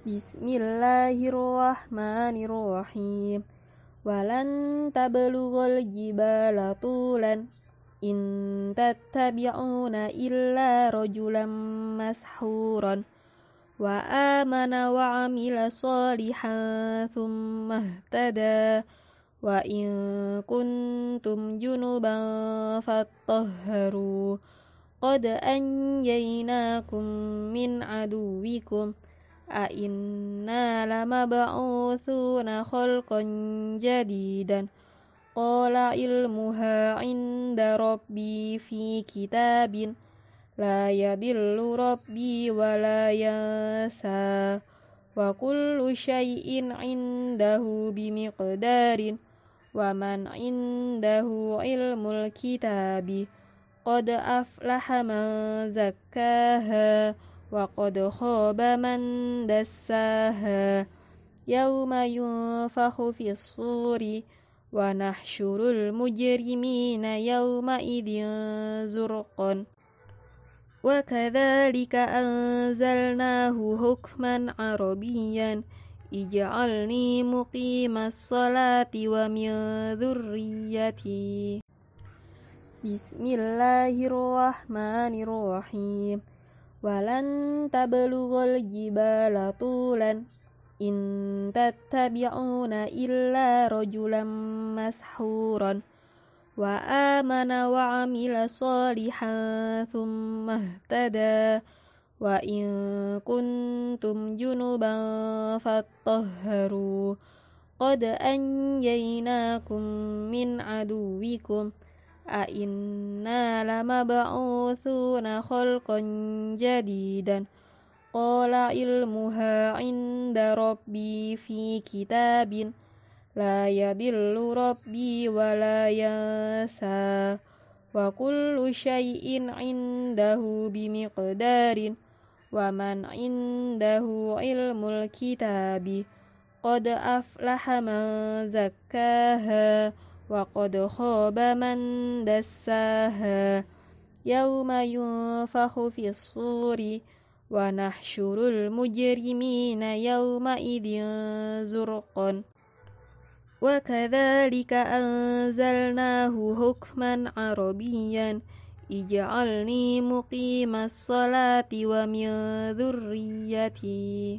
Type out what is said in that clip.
Bismillahirrahmanirrahim. Walan tablughal jibala tulan in tattabi'una illa rajulan mashuran wa amana wa amila salihan thumma ihtada wa in kuntum junuban fattahharu qad anjaynakum min aduwikum a inna lamab'utsuna khalqan jadidan qala ilmuha inda rabbi fi kitabin la yadillu rabbi wa la yansa wa kullu syai'in indahu bimiqdarin wa man indahu ilmul kitabi qad aflaha man zakkaha wa qad khaba man dassaha yauma yunfakhu fis suri wa nahsyurul mujrimina yauma idzin zurqan wa kadzalika anzalnahu hukman arabiyyan ij'alni muqimas salati wa min dzurriyyati. Bismillahirrahmanirrahim. Walan tablughal jibala tulan in tattabi'una illa rajulan mashuran wa amana wa amila salihan thumma ihtada wa in kuntum junuban fattahharu qad anjaynakum min aduwikum a inna lamab'utsuna khalqan jadidan qala ilmuha inda rabbi fi kitabin la yadillu rabbi wa la yansa wa kullu syai'in indahu bimiqdarin wa man indahu ilmul kitabi qad aflaha man zakkaha wa qad khaba man dassaha yauma yunfakhu fis suri wa nahsyurul mujrimina yauma idzin zurqan wa kadzalika anzalnahu hukman arabiyyan ij'alni muqimas salati wa min dzurriyyati.